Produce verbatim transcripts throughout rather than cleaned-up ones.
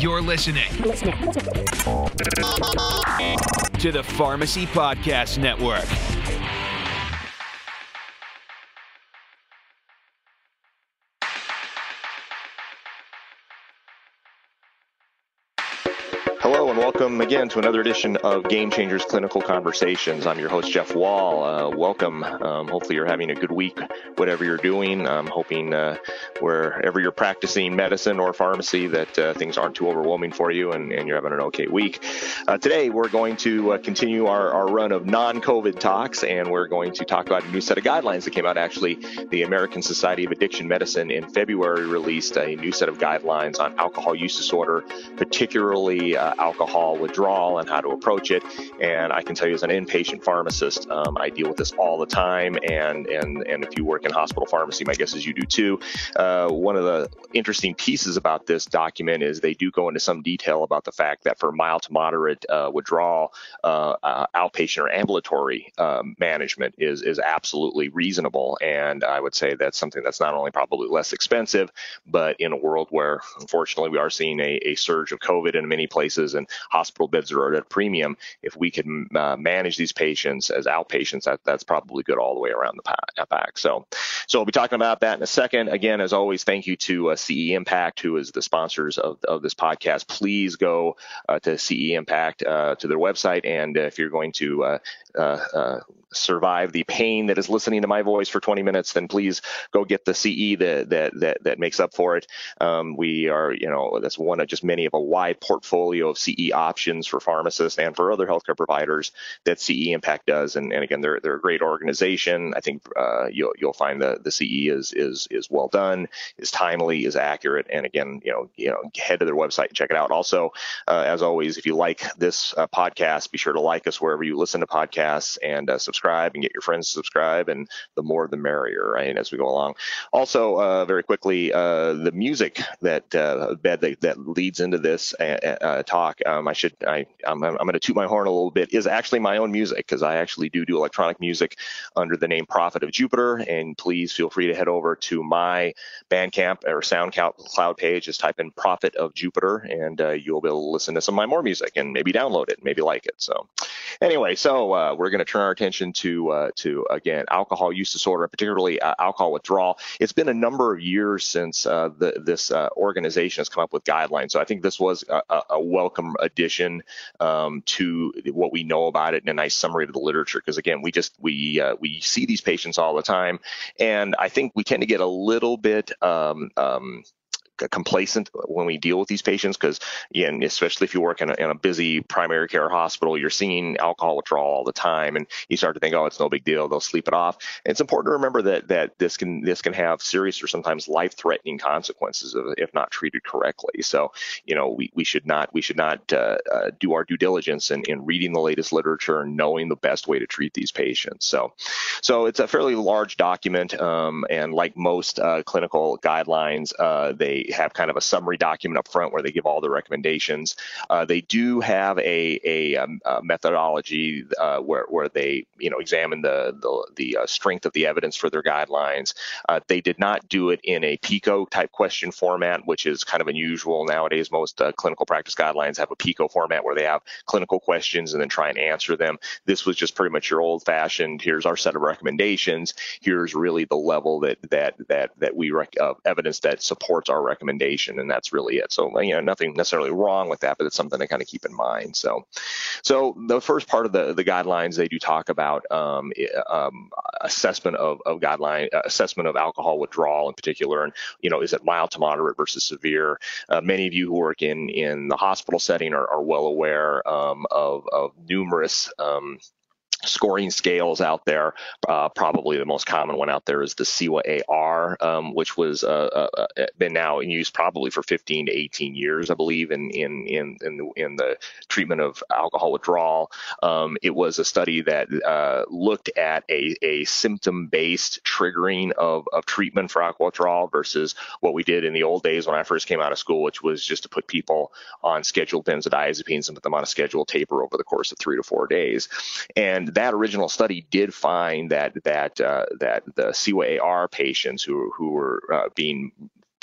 You're listening to the Pharmacy Podcast Network. Hello and welcome again to another edition of Game Changers Clinical Conversations. I'm your host, Jeff Wall. Uh, welcome. Um, hopefully you're having a good week, whatever you're doing. I'm hoping uh, wherever you're practicing medicine or pharmacy that uh, things aren't too overwhelming for you and, and you're having an okay week. Uh, today we're going to uh, continue our, our run of non-COVID talks, and we're going to talk about a new set of guidelines that came out. Actually, the American Society of Addiction Medicine in February released a new set of guidelines on alcohol use disorder, particularly uh, alcohol withdrawal and how to approach it. And I can tell you as an inpatient pharmacist, um, I deal with this all the time. And, and, and if you work in hospital pharmacy, my guess is you do too. Uh, one of the interesting pieces about this document is they do go into some detail about the fact that for mild to moderate uh, withdrawal, uh, uh, outpatient or ambulatory um, management is, is absolutely reasonable. And I would say that's something that's not only probably less expensive, but in a world where, unfortunately, we are seeing a, a surge of COVID in many places and hospital beds are at a premium, if we can uh, manage these patients as outpatients, that, that's probably good all the way around the pack. So, so we'll be talking about that in a second. Again, as always, thank you to uh, C E Impact, who is the sponsors of, of this podcast. Please go uh, to C E Impact, uh, to their website, and uh, if you're going to uh, uh, uh, survive the pain that is listening to my voice for twenty minutes, then please go get the C E that that that, that makes up for it. Um, we are, you know, that's one of just many of a wide portfolio of C E options for pharmacists and for other healthcare providers that C E Impact does. And, and again, they're they're a great organization. I think uh, you'll you'll find the the C E is is is well done, is timely, is accurate. And again, you know, you know, head to their website and check it out. Also, uh, as always, if you like this uh, podcast, be sure to like us wherever you listen to podcasts and uh, subscribe and get your friends to subscribe. And the more, the merrier, right? As we go along. Also, uh, very quickly, uh, the music that uh, bed that, that leads into this uh, uh, talk. Um, I should I I'm, I'm going to toot my horn a little bit. Is actually my own music, because I actually do do electronic music under the name Prophet of Jupiter. And please feel free to head over to my Bandcamp or SoundCloud page. Just type in Prophet of Jupiter, and uh, you'll be able to listen to some of my more music and maybe download it, maybe like it. So anyway, so uh, we're going to turn our attention to uh, to again alcohol use disorder, particularly uh, alcohol withdrawal. It's been a number of years since uh, the, this uh, organization has come up with guidelines. So I think this was a, a welcome addition um, to what we know about it, and a nice summary of the literature. Because again, we just we uh, we see these patients all the time, and I think we tend to get a little bit um, um, complacent when we deal with these patients, because again, especially if you work in a, in a busy primary care hospital, you're seeing alcohol withdrawal all the time, and you start to think, oh, it's no big deal, they'll sleep it off. And it's important to remember that that this can this can have serious or sometimes life-threatening consequences if not treated correctly. So, you know, we, we should not we should not uh, uh, do our due diligence in, in reading the latest literature and knowing the best way to treat these patients. So, so it's a fairly large document, um, and like most uh, clinical guidelines, uh, they have kind of a summary document up front where they give all the recommendations. Uh, they do have a, a, um, a methodology uh, where, where they, you know, examine the the, the uh, strength of the evidence for their guidelines. Uh, they did not do it in a PICO type question format, which is kind of unusual nowadays. Most uh, clinical practice guidelines have a PICO format where they have clinical questions and then try and answer them. This was just pretty much your old-fashioned, here's our set of recommendations. Here's really the level that that that that we rec- uh, evidence that supports our recommendation, and that's really it. So, you know, nothing necessarily wrong with that, but it's something to kind of keep in mind. So, so the first part of the the guidelines, they do talk about um, um, assessment of of guideline uh, assessment of alcohol withdrawal in particular, and you know, is it mild to moderate versus severe? Uh, many of you who work in in the hospital setting are, are well aware um, of of numerous um, scoring scales out there. Uh, probably the most common one out there is the C W A A R, um, which was uh, uh, been now in use probably for fifteen to eighteen years, I believe, in in in in the, in the treatment of alcohol withdrawal. Um, it was a study that uh, looked at a, a symptom-based triggering of, of treatment for alcohol withdrawal versus what we did in the old days when I first came out of school, which was just to put people on scheduled benzodiazepines and put them on a scheduled taper over the course of three to four days. And that original study did find that that uh, that the C W A A R patients who who were uh, being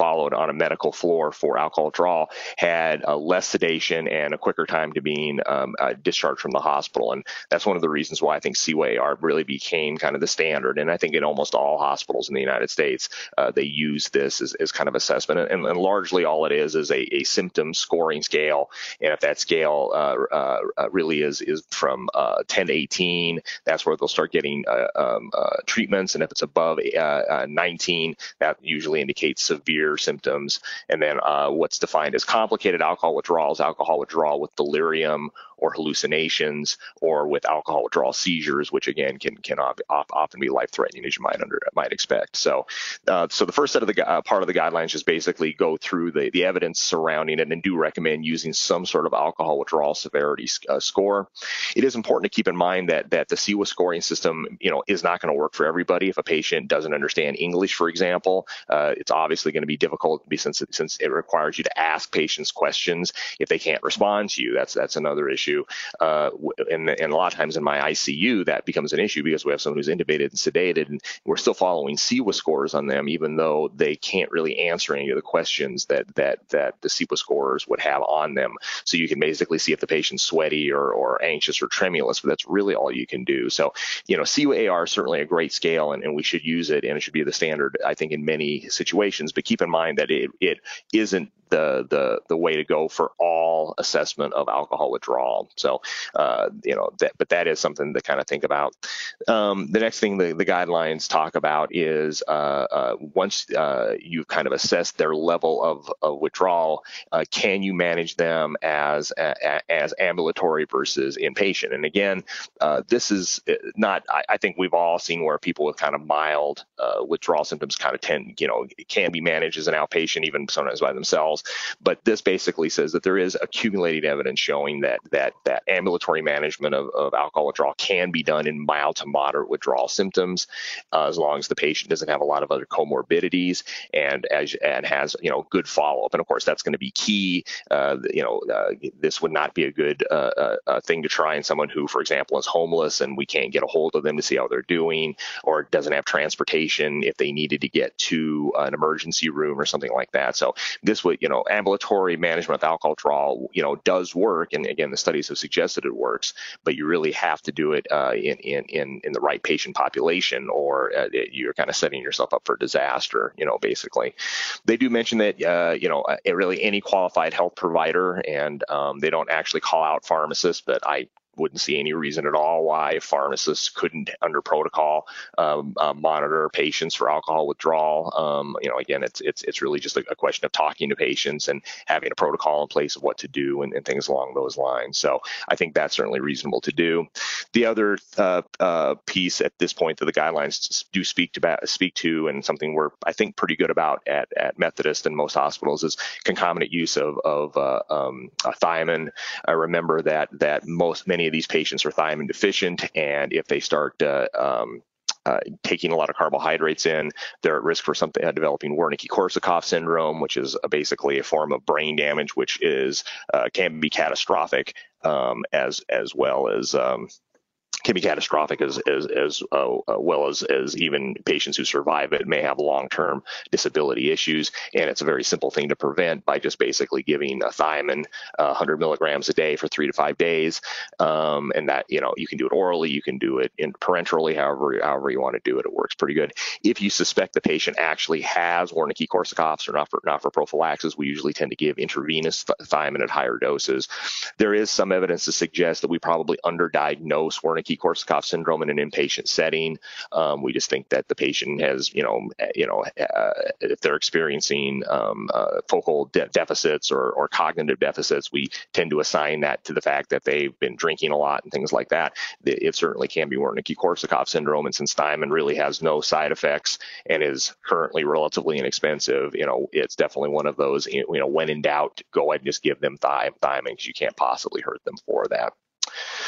followed on a medical floor for alcohol withdrawal had uh, less sedation and a quicker time to being um, uh, discharged from the hospital. And that's one of the reasons why I think C W A R really became kind of the standard. And I think in almost all hospitals in the United States, uh, they use this as, as kind of assessment. And, and largely all it is is a, a symptom scoring scale. And if that scale uh, uh, really is is from uh, ten to eighteen, that's where they'll start getting uh, um, uh, treatments. And if it's above uh, uh, nineteen, that usually indicates severe symptoms. And then uh, what's defined as complicated alcohol withdrawal is alcohol withdrawal with delirium or hallucinations or with alcohol withdrawal seizures, which again can can often be life-threatening, as you might under might expect. So, uh, so the first set of the uh, part of the guidelines just basically go through the the evidence surrounding it and do recommend using some sort of alcohol withdrawal severity uh, score. It is important to keep in mind that that the C W A scoring system, you know, is not going to work for everybody. If a patient doesn't understand English, for example, uh, it's obviously going to be difficult since it, since it requires you to ask patients questions if they can't respond to you. That's that's another issue. Uh, and, and a lot of times in my I C U, that becomes an issue because we have someone who's intubated and sedated, and we're still following C W A scores on them, even though they can't really answer any of the questions that that that the C W A scores would have on them. So you can basically see if the patient's sweaty or, or anxious or tremulous, but that's really all you can do. So, you know, C W A R is certainly a great scale, and, and we should use it, and it should be the standard, I think, in many situations. But keep in mind that it, it isn't the the the way to go for all assessment of alcohol withdrawal. So, uh, you know, that, but that is something to kind of think about. Um, the next thing the, the guidelines talk about is uh, uh, once uh, you've kind of assessed their level of, of withdrawal, uh, can you manage them as a, as ambulatory versus inpatient? And again, uh, this is not, I, I think we've all seen where people with kind of mild uh, withdrawal symptoms kind of tend, you know, can be managed as an outpatient, even sometimes by themselves. But this basically says that there is accumulated evidence showing that that that ambulatory management of, of alcohol withdrawal can be done in mild to moderate withdrawal symptoms, uh, as long as the patient doesn't have a lot of other comorbidities and as and has you know good follow-up. And of course, that's going to be key. Uh, you know, uh, this would not be a good uh, uh, uh, thing to try in someone who, for example, is homeless and we can't get a hold of them to see how they're doing, or doesn't have transportation if they needed to get to an emergency room or something like that. So this would, you know, ambulatory management of alcohol withdrawal, you know, does work, and again, the studies have suggested it works, but you really have to do it uh, in, in in in the right patient population, or uh, you're kind of setting yourself up for disaster. You know, basically, they do mention that uh, you know, really any qualified health provider, and um, they don't actually call out pharmacists, but I wouldn't see any reason at all why pharmacists couldn't, under protocol, um, uh, monitor patients for alcohol withdrawal. Um, you know, again, it's it's it's really just a, a question of talking to patients and having a protocol in place of what to do and, and things along those lines. So I think that's certainly reasonable to do. The other uh, uh, piece at this point that the guidelines do speak to, speak to, and something we're I think pretty good about at, at Methodist and most hospitals, is concomitant use of of uh, um, uh, thiamine. I remember that that most many of these patients are thiamine deficient, and if they start uh, um, uh, taking a lot of carbohydrates in, they're at risk for something uh, developing Wernicke-Korsakoff syndrome, which is uh, basically a form of brain damage, which is uh, can be catastrophic, um, as as well as um, can be catastrophic as as, as uh, well as as even patients who survive it may have long-term disability issues. And it's a very simple thing to prevent by just basically giving a thiamine uh, one hundred milligrams a day for three to five days. Um, and that, you know, you can do it orally, you can do it in parenterally, however however you want to do it. It works pretty good. If you suspect the patient actually has Wernicke-Korsakoffs or not for not for prophylaxis, we usually tend to give intravenous th- thiamine at higher doses. There is some evidence to suggest that we probably underdiagnose Wernicke Korsakoff syndrome in an inpatient setting. Um, we just think that the patient has, you know, you know, uh, if they're experiencing um, uh, focal de- deficits or, or cognitive deficits, we tend to assign that to the fact that they've been drinking a lot and things like that. It certainly can be Wernicke-Korsakoff syndrome, and since thiamine really has no side effects and is currently relatively inexpensive, you know, it's definitely one of those, you know, when in doubt, go ahead and just give them thi- thiamine because you can't possibly hurt them for that.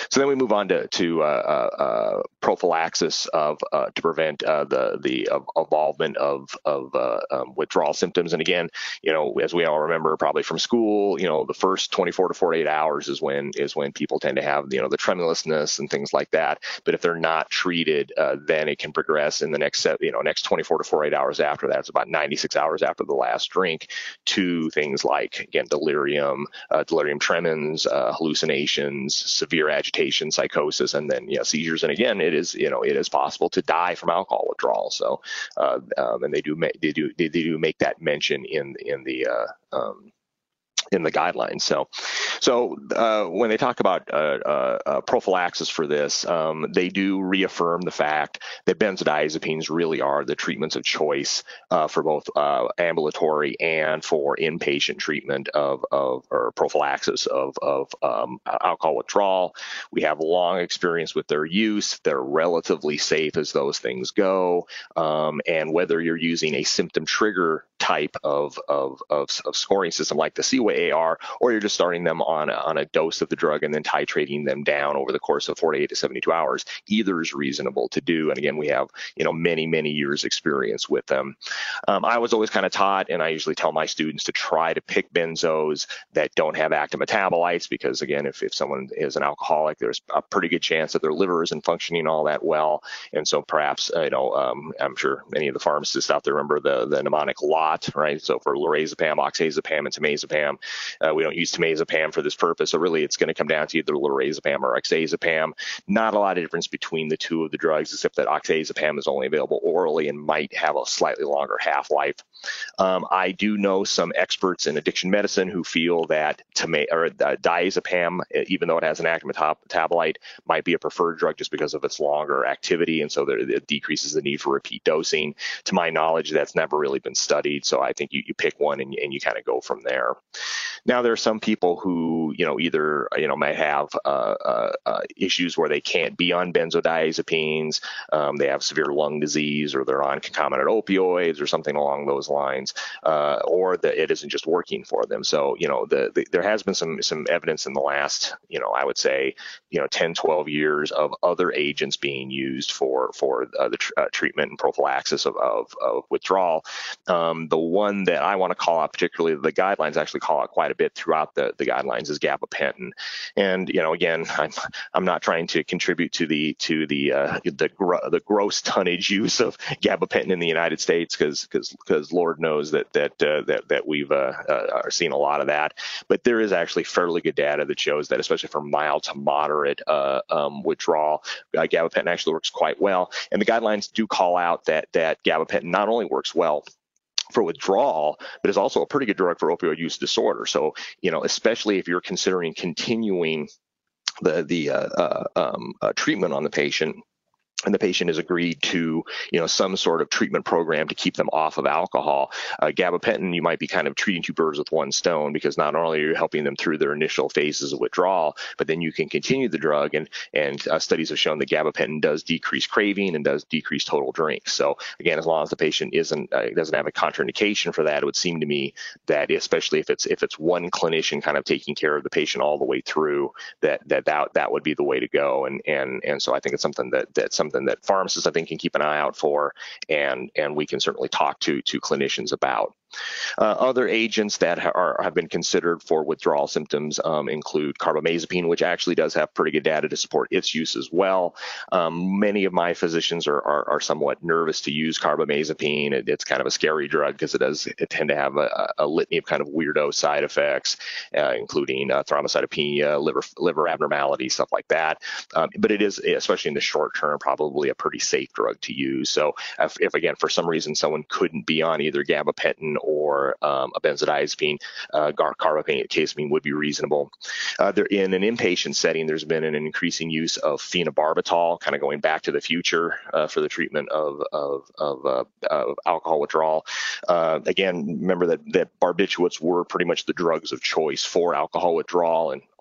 So then we move on to, to uh, uh, prophylaxis of uh, to prevent uh, the the uh, involvement of of uh, um, withdrawal symptoms. And again, you know, as we all remember probably from school, you know, the first twenty-four to forty-eight hours is when is when people tend to have, you know, the tremulousness and things like that. But if they're not treated, uh, then it can progress in the next, you know, next twenty-four to forty-eight hours after that. It's about ninety-six hours after the last drink, to things like, again, delirium, uh, delirium tremens, uh, hallucinations, severe agitation, psychosis, and then, you know, seizures. And again, it is, you know, it is possible to die from alcohol withdrawal. So, uh, um, and they do make, they do they do make that mention in in the uh, um, in the guidelines. So, so uh, when they talk about uh, uh, uh, prophylaxis for this, um, they do reaffirm the fact that benzodiazepines really are the treatments of choice uh, for both uh, ambulatory and for inpatient treatment of, of or prophylaxis of, of um, alcohol withdrawal. We have long experience with their use. They're relatively safe as those things go. Um, and whether you're using a symptom trigger type of, of, of, of scoring system like the Seaway A R, or you're just starting them on a, on a dose of the drug and then titrating them down over the course of forty-eight to seventy-two hours, either is reasonable to do. And again, we have, you know, many, many years experience with them. Um, I was always kind of taught, and I usually tell my students to try to pick benzos that don't have active metabolites, because again, if, if someone is an alcoholic, there's a pretty good chance that their liver isn't functioning all that well. And so perhaps, uh, you know, um, I'm sure many of the pharmacists out there remember the, the mnemonic LOT, right? So for lorazepam, oxazepam, and temazepam, uh, we don't use temazepam for this purpose. So really it's going to come down to either lorazepam or oxazepam. Not a lot of difference between the two of the drugs, except that oxazepam is only available orally and might have a slightly longer half-life. Um, I do know some experts in addiction medicine who feel that tama- or, uh, diazepam, even though it has an active metab- metabolite, might be a preferred drug just because of its longer activity, and so there, it decreases the need for repeat dosing. To my knowledge, that's never really been studied, so I think you, you pick one and, and you kind of go from there. Now, there are some people who, you know, either, you know, might have uh, uh, uh, issues where they can't be on benzodiazepines, um, they have severe lung disease, or they're on concomitant opioids or something along those lines, uh, or that it isn't just working for them. So, you know, the, the, there has been some some evidence in the last, you know, I would say, you know, ten, twelve years of other agents being used for for uh, the tr- uh, treatment and prophylaxis of, of, of withdrawal. Um, the one that I want to call out, particularly the guidelines actually call out quite a bit throughout the, the guidelines, is gabapentin. And, you know, again, I'm I'm not trying to contribute to the to the uh, the gr- the gross tonnage use of gabapentin in the United States, because because because Lord knows that that uh, that that we've uh, uh, are seeing a lot of that. But there is actually fairly good data that shows that, especially for mild to moderate uh, um, withdrawal, uh, gabapentin actually works quite well. And the guidelines do call out that that gabapentin not only works well for withdrawal, but is also a pretty good drug for opioid use disorder. So, you know, especially if you're considering continuing the the uh, uh, um, uh, treatment on the patient, and the patient has agreed to, you know, some sort of treatment program to keep them off of alcohol, uh, gabapentin, you might be kind of treating two birds with one stone, because not only are you helping them through their initial phases of withdrawal, but then you can continue the drug. And and uh, studies have shown that gabapentin does decrease craving and does decrease total drinks. So again, as long as the patient isn't uh, doesn't have a contraindication for that, it would seem to me that, especially if it's if it's one clinician kind of taking care of the patient all the way through, that that that, that would be the way to go. And and and so I think it's something that that something that pharmacists, I think, can keep an eye out for, and and we can certainly talk to to clinicians about. Uh, other agents that ha- are, have been considered for withdrawal symptoms um, include carbamazepine, which actually does have pretty good data to support its use as well. Um, many of my physicians are, are, are somewhat nervous to use carbamazepine. It, it's kind of a scary drug because it does it tend to have a, a litany of kind of weirdo side effects, uh, including uh, thrombocytopenia, liver liver abnormalities, stuff like that. Um, but it is, especially in the short term, probably a pretty safe drug to use. So if, if again, for some reason, someone couldn't be on either gabapentin or um, a benzodiazepine, uh, carbamazepine would be reasonable. Uh, there, in an inpatient setting, there's been an increasing use of phenobarbital, kind of going back to the future uh, for the treatment of of, of, uh, of alcohol withdrawal. Uh, again, remember that that barbiturates were pretty much the drugs of choice for alcohol withdrawal, and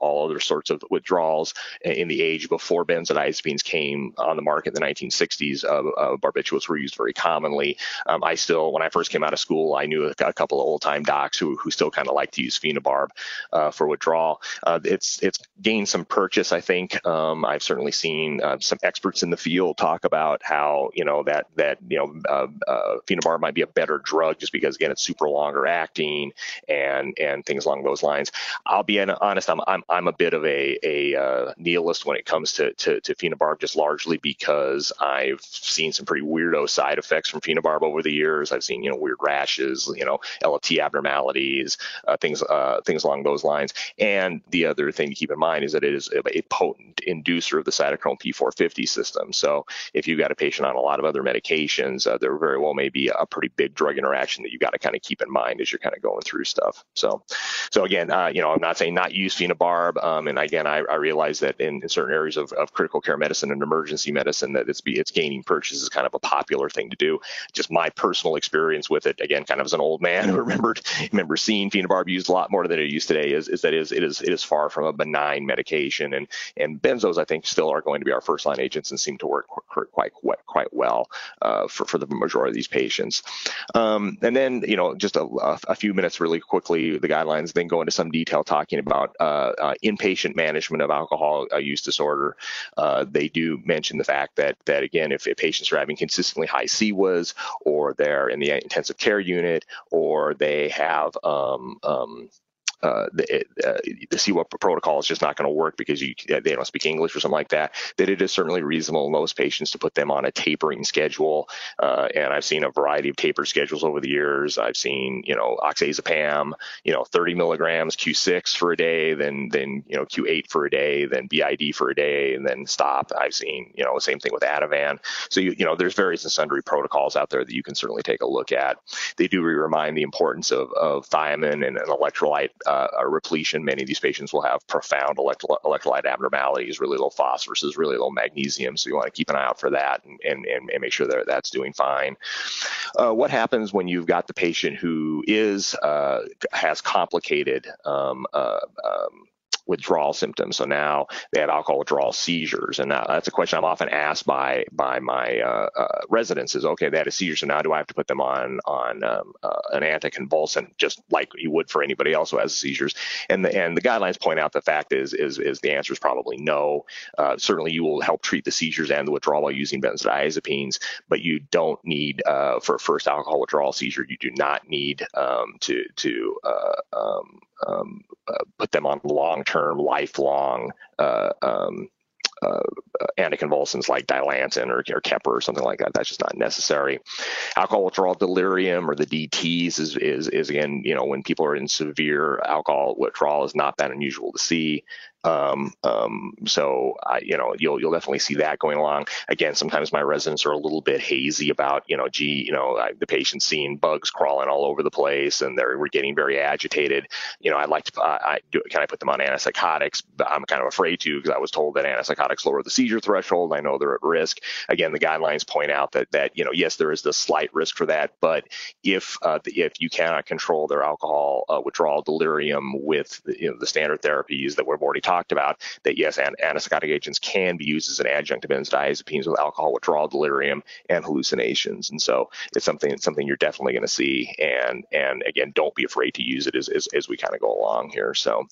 all other sorts of withdrawals in the age before benzodiazepines came on the market in the nineteen sixties. Uh, uh, barbiturates were used very commonly. Um, I still, when I first came out of school, I knew a, a couple of old-time docs who who still kind of like to use phenobarb uh, for withdrawal. Uh, it's it's gained some purchase, I think. Um, I've certainly seen uh, some experts in the field talk about how you know that that you know uh, uh, phenobarb might be a better drug just because again it's super longer acting and and things along those lines. I'll be honest, I'm I'm I'm a bit of a a uh, nihilist when it comes to, to to phenobarb, just largely because I've seen some pretty weirdo side effects from phenobarb over the years. I've seen you know weird rashes, you know L F T abnormalities, uh, things uh, things along those lines. And the other thing to keep in mind is that it is a potent inducer of the cytochrome P four fifty system. So if you've got a patient on a lot of other medications, uh, there very well may be a pretty big drug interaction that you got to kind of keep in mind as you're kind of going through stuff. So, so again, uh, you know, I'm not saying not use phenobarb. Um, and again, I, I realize that in, in certain areas of, of critical care medicine and emergency medicine, that it's be, it's gaining purchase is kind of a popular thing to do. Just my personal experience with it, again, kind of as an old man who remembered remember seeing phenobarb used a lot more than it used today, is, is that is it is it is far from a benign medication. And and benzos, I think, still are going to be our first line agents and seem to work quite quite, quite well uh, for for the majority of these patients. Um, and then you know just a, a few minutes really quickly, the guidelines then go into some detail talking about uh, uh, inpatient management of alcohol uh, use disorder. Uh, they do mention the fact that that again, if, if patients are having consistently high C W A S, or they're in the intensive care unit, or they have um, um, Uh, the, uh, the C W A protocol is just not going to work because you, they don't speak English or something like that, that it is certainly reasonable in those patients to put them on a tapering schedule. Uh, and I've seen a variety of taper schedules over the years. I've seen, you know, oxazepam, you know, thirty milligrams Q six for a day, then, then, you know, Q eight for a day, then B I D for a day, and then stop. I've seen, you know, the same thing with Ativan. So, you, you know, there's various and sundry protocols out there that you can certainly take a look at. They do remind the importance of, of thiamine and an electrolyte Uh, a repletion. Many of these patients will have profound electro- electrolyte abnormalities, really low phosphorus, really low magnesium. So you want to keep an eye out for that and, and, and make sure that that's doing fine. Uh, what happens when you've got the patient who is uh, has complicated um, uh, um, withdrawal symptoms? So now they have alcohol withdrawal seizures, and now that's a question I'm often asked by by my uh, uh, residents: is okay, they had a seizure, so now do I have to put them on on um, uh, an anticonvulsant just like you would for anybody else who has seizures? And the and the guidelines point out the fact is is is the answer is probably no. Uh, certainly, you will help treat the seizures and the withdrawal by using benzodiazepines, but you don't need uh, for a first alcohol withdrawal seizure. You do not need um, to to uh, um, um, uh, put them on long-term, lifelong uh, um, uh, anticonvulsants like Dilantin or, or Keppra or something like that. That's just not necessary. Alcohol withdrawal delirium, or the D Ts, is, is, is again, you know, when people are in severe alcohol withdrawal, is not that unusual to see. Um, um, so I, you know, you'll, you'll definitely see that going along. Again, sometimes my residents are a little bit hazy about, you know, gee, you know, I, the patient's seeing bugs crawling all over the place and they're, we're getting very agitated. You know, I'd like to, uh, I do, can I put them on antipsychotics? But I'm kind of afraid to, because I was told that antipsychotics lower the seizure threshold. I know they're at risk. Again, the guidelines point out that, that, you know, yes, there is the slight risk for that, but if, uh, the, if you cannot control their alcohol uh, withdrawal delirium with, you know, the standard therapies that we've already talked talked about, that yes, and antipsychotic agents can be used as an adjunct to benzodiazepines with alcohol withdrawal delirium and hallucinations. And so it's something it's something you're definitely going to see. And and again, don't be afraid to use it as as, as we kind of go along here. So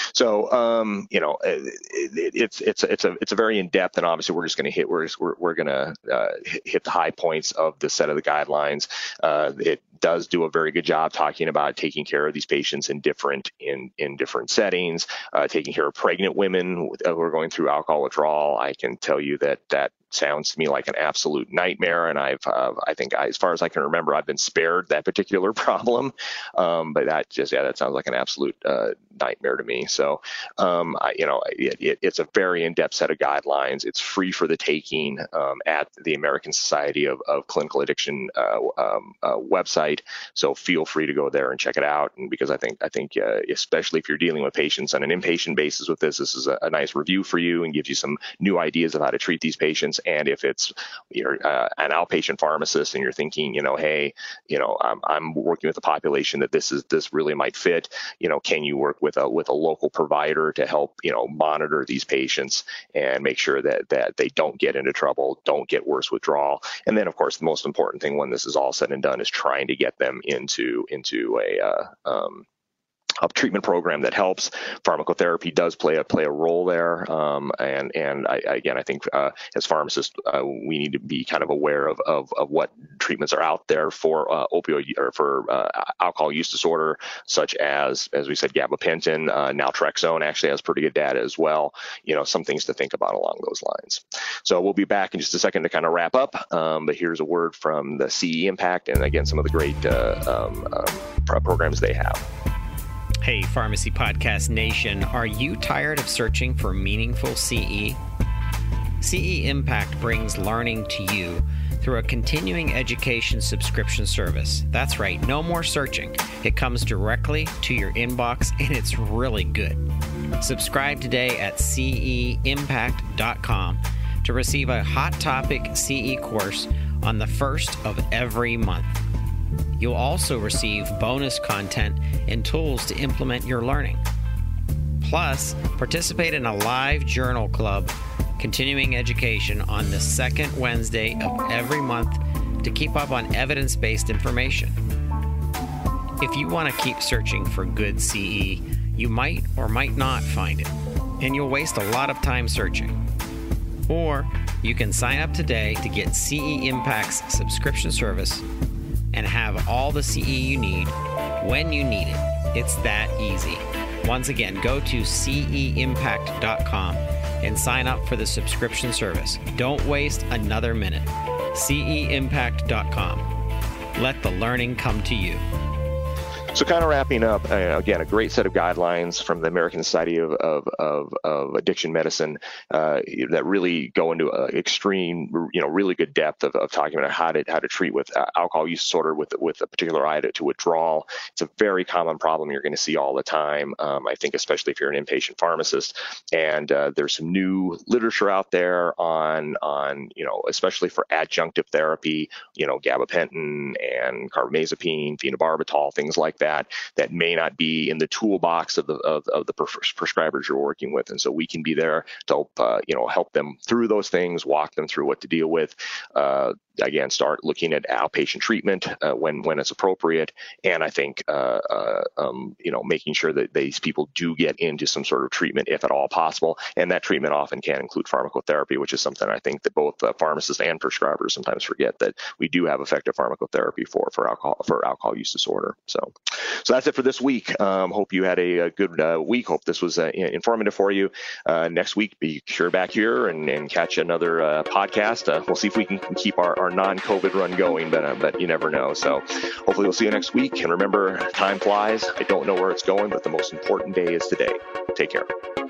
so um, you know, it, it, it's it's it's a it's a very in depth, and obviously we're just going to hit we're we're, we're going to uh, hit the high points of the set of the guidelines. Uh, it does do a very good job talking about taking care of these patients in different in in different settings, uh, taking care of pregnant women who are going through alcohol withdrawal. I can tell you that that sounds to me like an absolute nightmare, and I've uh, I think I, as far as I can remember, I've been spared that particular problem. Um, but that just yeah, that sounds like an absolute uh, nightmare to me. So um, I, you know, it, it, it's a very in-depth set of of guidelines. It's free for the taking um, at the American Society of, of Clinical Addiction uh, um, uh, website. So feel free to go there and check it out. And because I think I think uh, especially if you're dealing with patients on an inpatient basis with this, this is a, a nice review for you and gives you some new ideas of how to treat these patients. And if it's you're uh, an outpatient pharmacist and you're thinking, you know, hey, you know, I'm, I'm working with a population that this is this really might fit. You know, can you work with a with a local provider to help, you know, monitor these patients and make sure that that they don't get into trouble, don't get worse withdrawal. And then, of course, the most important thing when this is all said and done is trying to get them into into a uh, um, a treatment program that helps. Pharmacotherapy does play a play a role there, um, and and I, again, I think uh, as pharmacists, uh, we need to be kind of aware of of, of what treatments are out there for uh, opioid or for uh, alcohol use disorder, such as as we said, gabapentin, uh, naltrexone actually has pretty good data as well. You know, some things to think about along those lines. So we'll be back in just a second to kind of wrap up. Um, but here's a word from the C E Impact, and again, some of the great uh, um, uh, programs they have. Hey, Pharmacy Podcast Nation, are you tired of searching for meaningful C E? C E Impact brings learning to you through a continuing education subscription service. That's right, no more searching. It comes directly to your inbox, and it's really good. Subscribe today at C E impact dot com to receive a hot topic C E course on the first of every month. You'll also receive bonus content and tools to implement your learning. Plus, participate in a live journal club, continuing education on the second Wednesday of every month to keep up on evidence-based information. If you want to keep searching for good C E, you might or might not find it, and you'll waste a lot of time searching. Or you can sign up today to get C E Impact's subscription service and have all the C E you need when you need it. It's that easy. Once again, go to C E impact dot com and sign up for the subscription service. Don't waste another minute. C E impact dot com. Let the learning come to you. So kind of wrapping up, uh, again, a great set of guidelines from the American Society of, of, of, of Addiction Medicine uh, that really go into uh, extreme, you know, really good depth of, of talking about how to how to treat with uh, alcohol use disorder with with a particular eye to, to withdrawal. It's a very common problem you're going to see all the time. Um, I think especially if you're an inpatient pharmacist, and uh, there's some new literature out there on on you know, especially for adjunctive therapy, you know, gabapentin and carbamazepine, phenobarbital, things like that. That, that may not be in the toolbox of the of, of the prescribers you're working with, and so we can be there to help uh, you know help them through those things, walk them through what to deal with. Uh, again, start looking at outpatient treatment uh, when when it's appropriate, and I think uh, uh, um, you know making sure that these people do get into some sort of treatment if at all possible, and that treatment often can include pharmacotherapy, which is something I think that both uh, pharmacists and prescribers sometimes forget, that we do have effective pharmacotherapy for for alcohol for alcohol use disorder. So. So that's it for this week. Um, hope you had a, a good uh, week. Hope this was uh, informative for you. Uh, next week, be sure back here and, and catch another uh, podcast. Uh, we'll see if we can keep our, our non-COVID run going, but uh, but you never know. So hopefully we'll see you next week. And remember, time flies. I don't know where it's going, but the most important day is today. Take care.